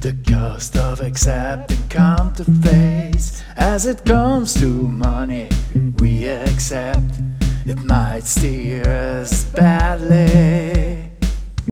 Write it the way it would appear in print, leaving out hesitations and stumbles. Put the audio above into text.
The cost of accepting counterfeits. As it comes to money, we accept it might steer us badly.